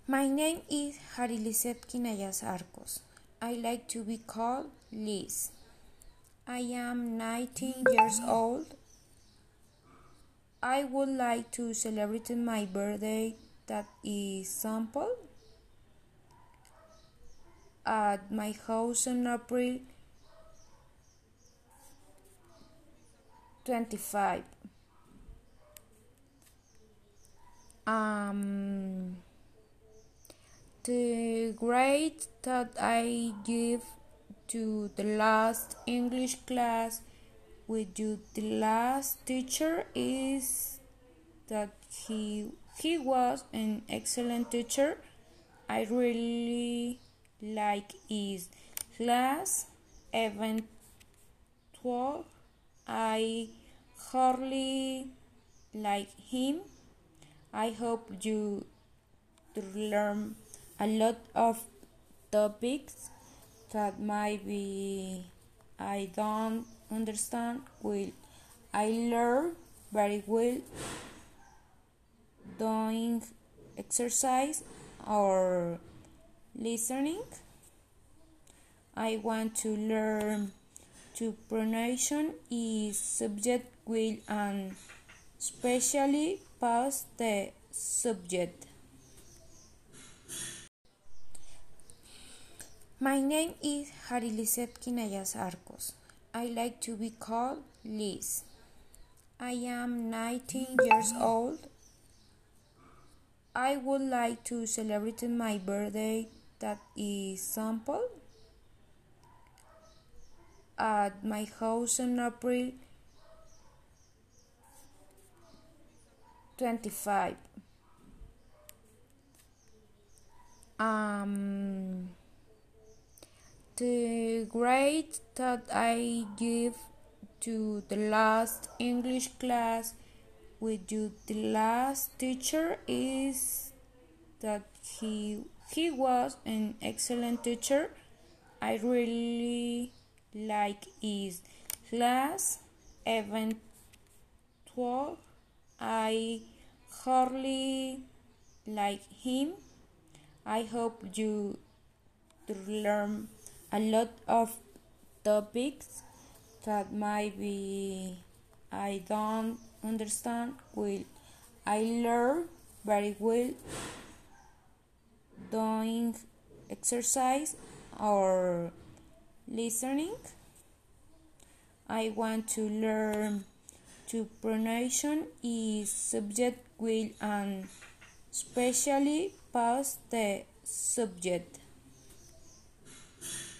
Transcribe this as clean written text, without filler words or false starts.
My name is Harilisset Quinayas Arcos. I like to be called Liz. I am 19 years old. I would like to celebrate my birthday that is simple at my house on April 25. The grade that I give to the last English class with you, the last teacher, is that he was an excellent teacher. I really like his class, even though I hardly like him. I hope you learn a lot of topics that maybe I don't understand. Will I learn very well doing exercise or listening? I want to learn to pronunciation is subject will and especially past the subject. My name is Harilisset Quinayas Arcos. I like to be called Liz. I am 19 years old. I would like to celebrate my birthday that is simple at my house on April 25. The grade that I give to the last English class with you, the last teacher, is that he was an excellent teacher. I really like his class, even though I hardly like him. I hope you learn a lot of topics that maybe I don't understand. Will I learn very well doing exercise or listening? I want to learn to pronunciation is subject will and especially past the subject.